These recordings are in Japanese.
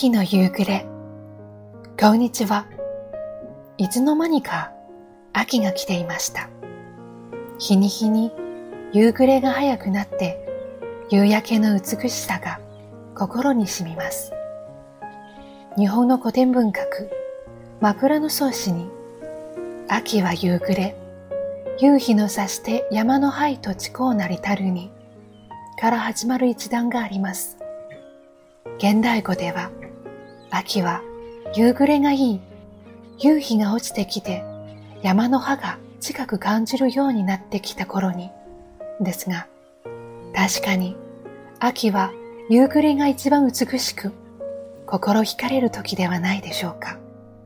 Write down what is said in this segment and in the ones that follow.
秋の夕暮れ。こんにちは。いつの間にか秋が来ていました。日に日に夕暮れが早くなって夕焼けの美しさが心に染みます。日本の古典文学枕草子に秋は夕暮れ、夕日の差して山の灰と地高なりたるにから始まる一段があります。現代語では秋は夕暮れがいい、夕日が落ちてきて山の葉が近く感じるようになってきた頃にですが、確かに秋は夕暮れが一番美しく心惹かれる時ではないでしょうか。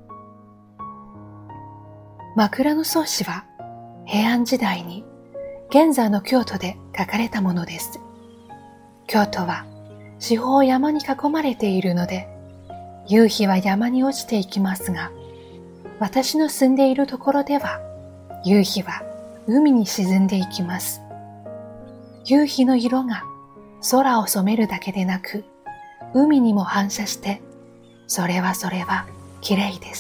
枕草子は平安時代に現在の京都で書かれたものです。京都は四方山に囲まれているので、夕日は山に落ちていきますが、私の住んでいるところでは、夕日は海に沈んでいきます。夕日の色が空を染めるだけでなく、海にも反射して、それは綺麗です。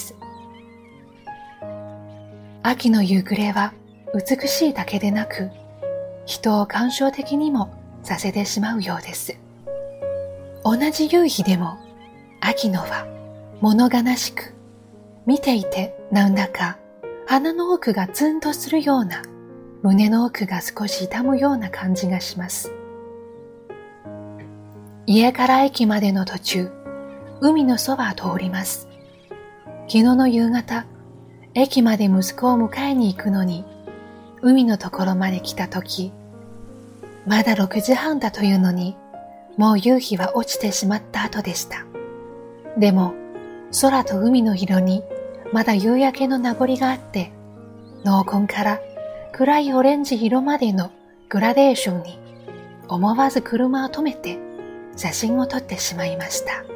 秋の夕暮れは美しいだけでなく、人を感傷的にもさせてしまうようです。同じ夕日でも、秋のは物悲しく、見ていてなんだか鼻の奥がツンとするような、胸の奥が少し痛むような感じがします。家から駅までの途中、海のそばを通ります。昨日の夕方、駅まで息子を迎えに行くのに、海のところまで来たとき、まだ6時半だというのに、もう夕日は落ちてしまった後でした。でも、空と海の色にまだ夕焼けの名残があって、濃紺から暗いオレンジ色までのグラデーションに思わず車を止めて写真を撮ってしまいました。